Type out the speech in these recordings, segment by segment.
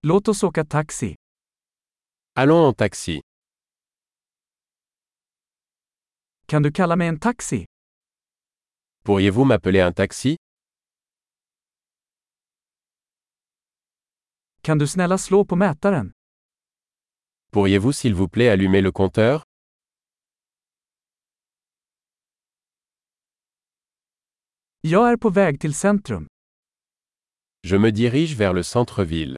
Låt oss åka taxi. Allons en taxi. Kan du kalla mig en taxi? Pourriez-vous m'appeler un taxi? Kan du snälla slå på mätaren? Pourriez-vous s'il vous plaît allumer le compteur? Jag är på väg till centrum. Je me dirige vers le centre-ville.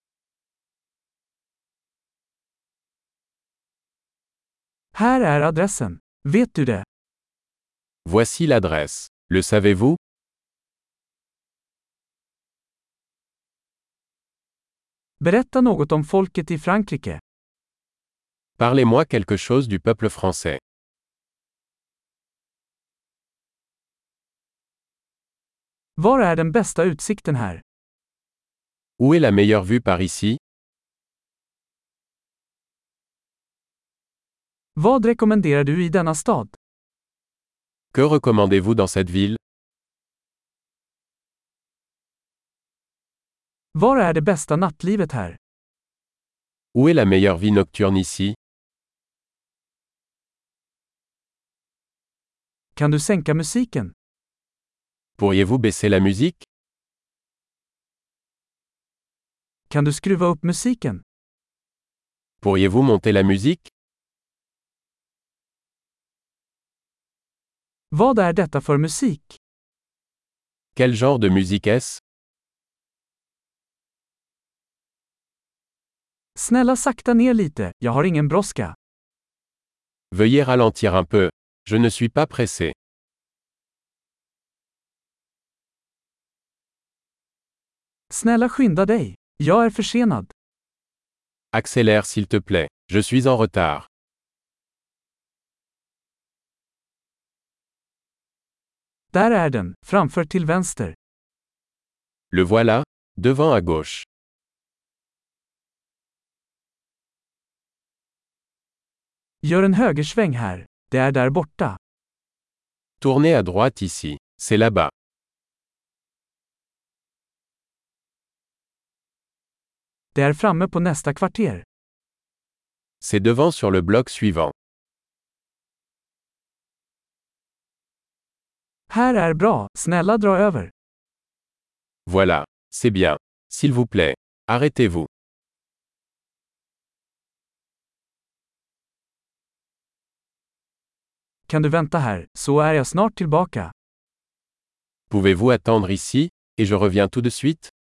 Här är adressen. Vet du det? Voici l'adresse. Le savez-vous? Berätta något om folket i Frankrike. Parlez-moi quelque chose du peuple français. Var är den bästa utsikten här? Où est la meilleure vue par ici? Vad rekommenderar du i denna stad? Que recommandez-vous dans cette ville? Var är det bästa nattlivet här? Où est la meilleure vie nocturne ici? Kan du sänka musiken? Pourriez-vous baisser la musique? Kan du skruva upp musiken? Pourriez-vous monter la musique? Vad är detta för musik? Quel genre de musique est-ce? Snälla sakta ner lite, jag har ingen brådska. Veuillez ralentir un peu. Je ne suis pas pressé. Snälla skynda dig. Jag är försenad. Accélère s'il te plaît. Je suis en retard. Där är den, framför till vänster. Le voilà, devant à gauche. Gör en högersväng här. Det är där borta. Tournez à droite ici. C'est là-bas. Det är framme på nästa kvarter. C'est devant sur le bloc suivant. Här är bra, snälla dra över. Voilà. C'est bien. S'il vous plaît. Arrêtez-vous. Kan du vänta här, så är jag snart tillbaka. Pouvez-vous attendre ici, et je reviens tout de suite?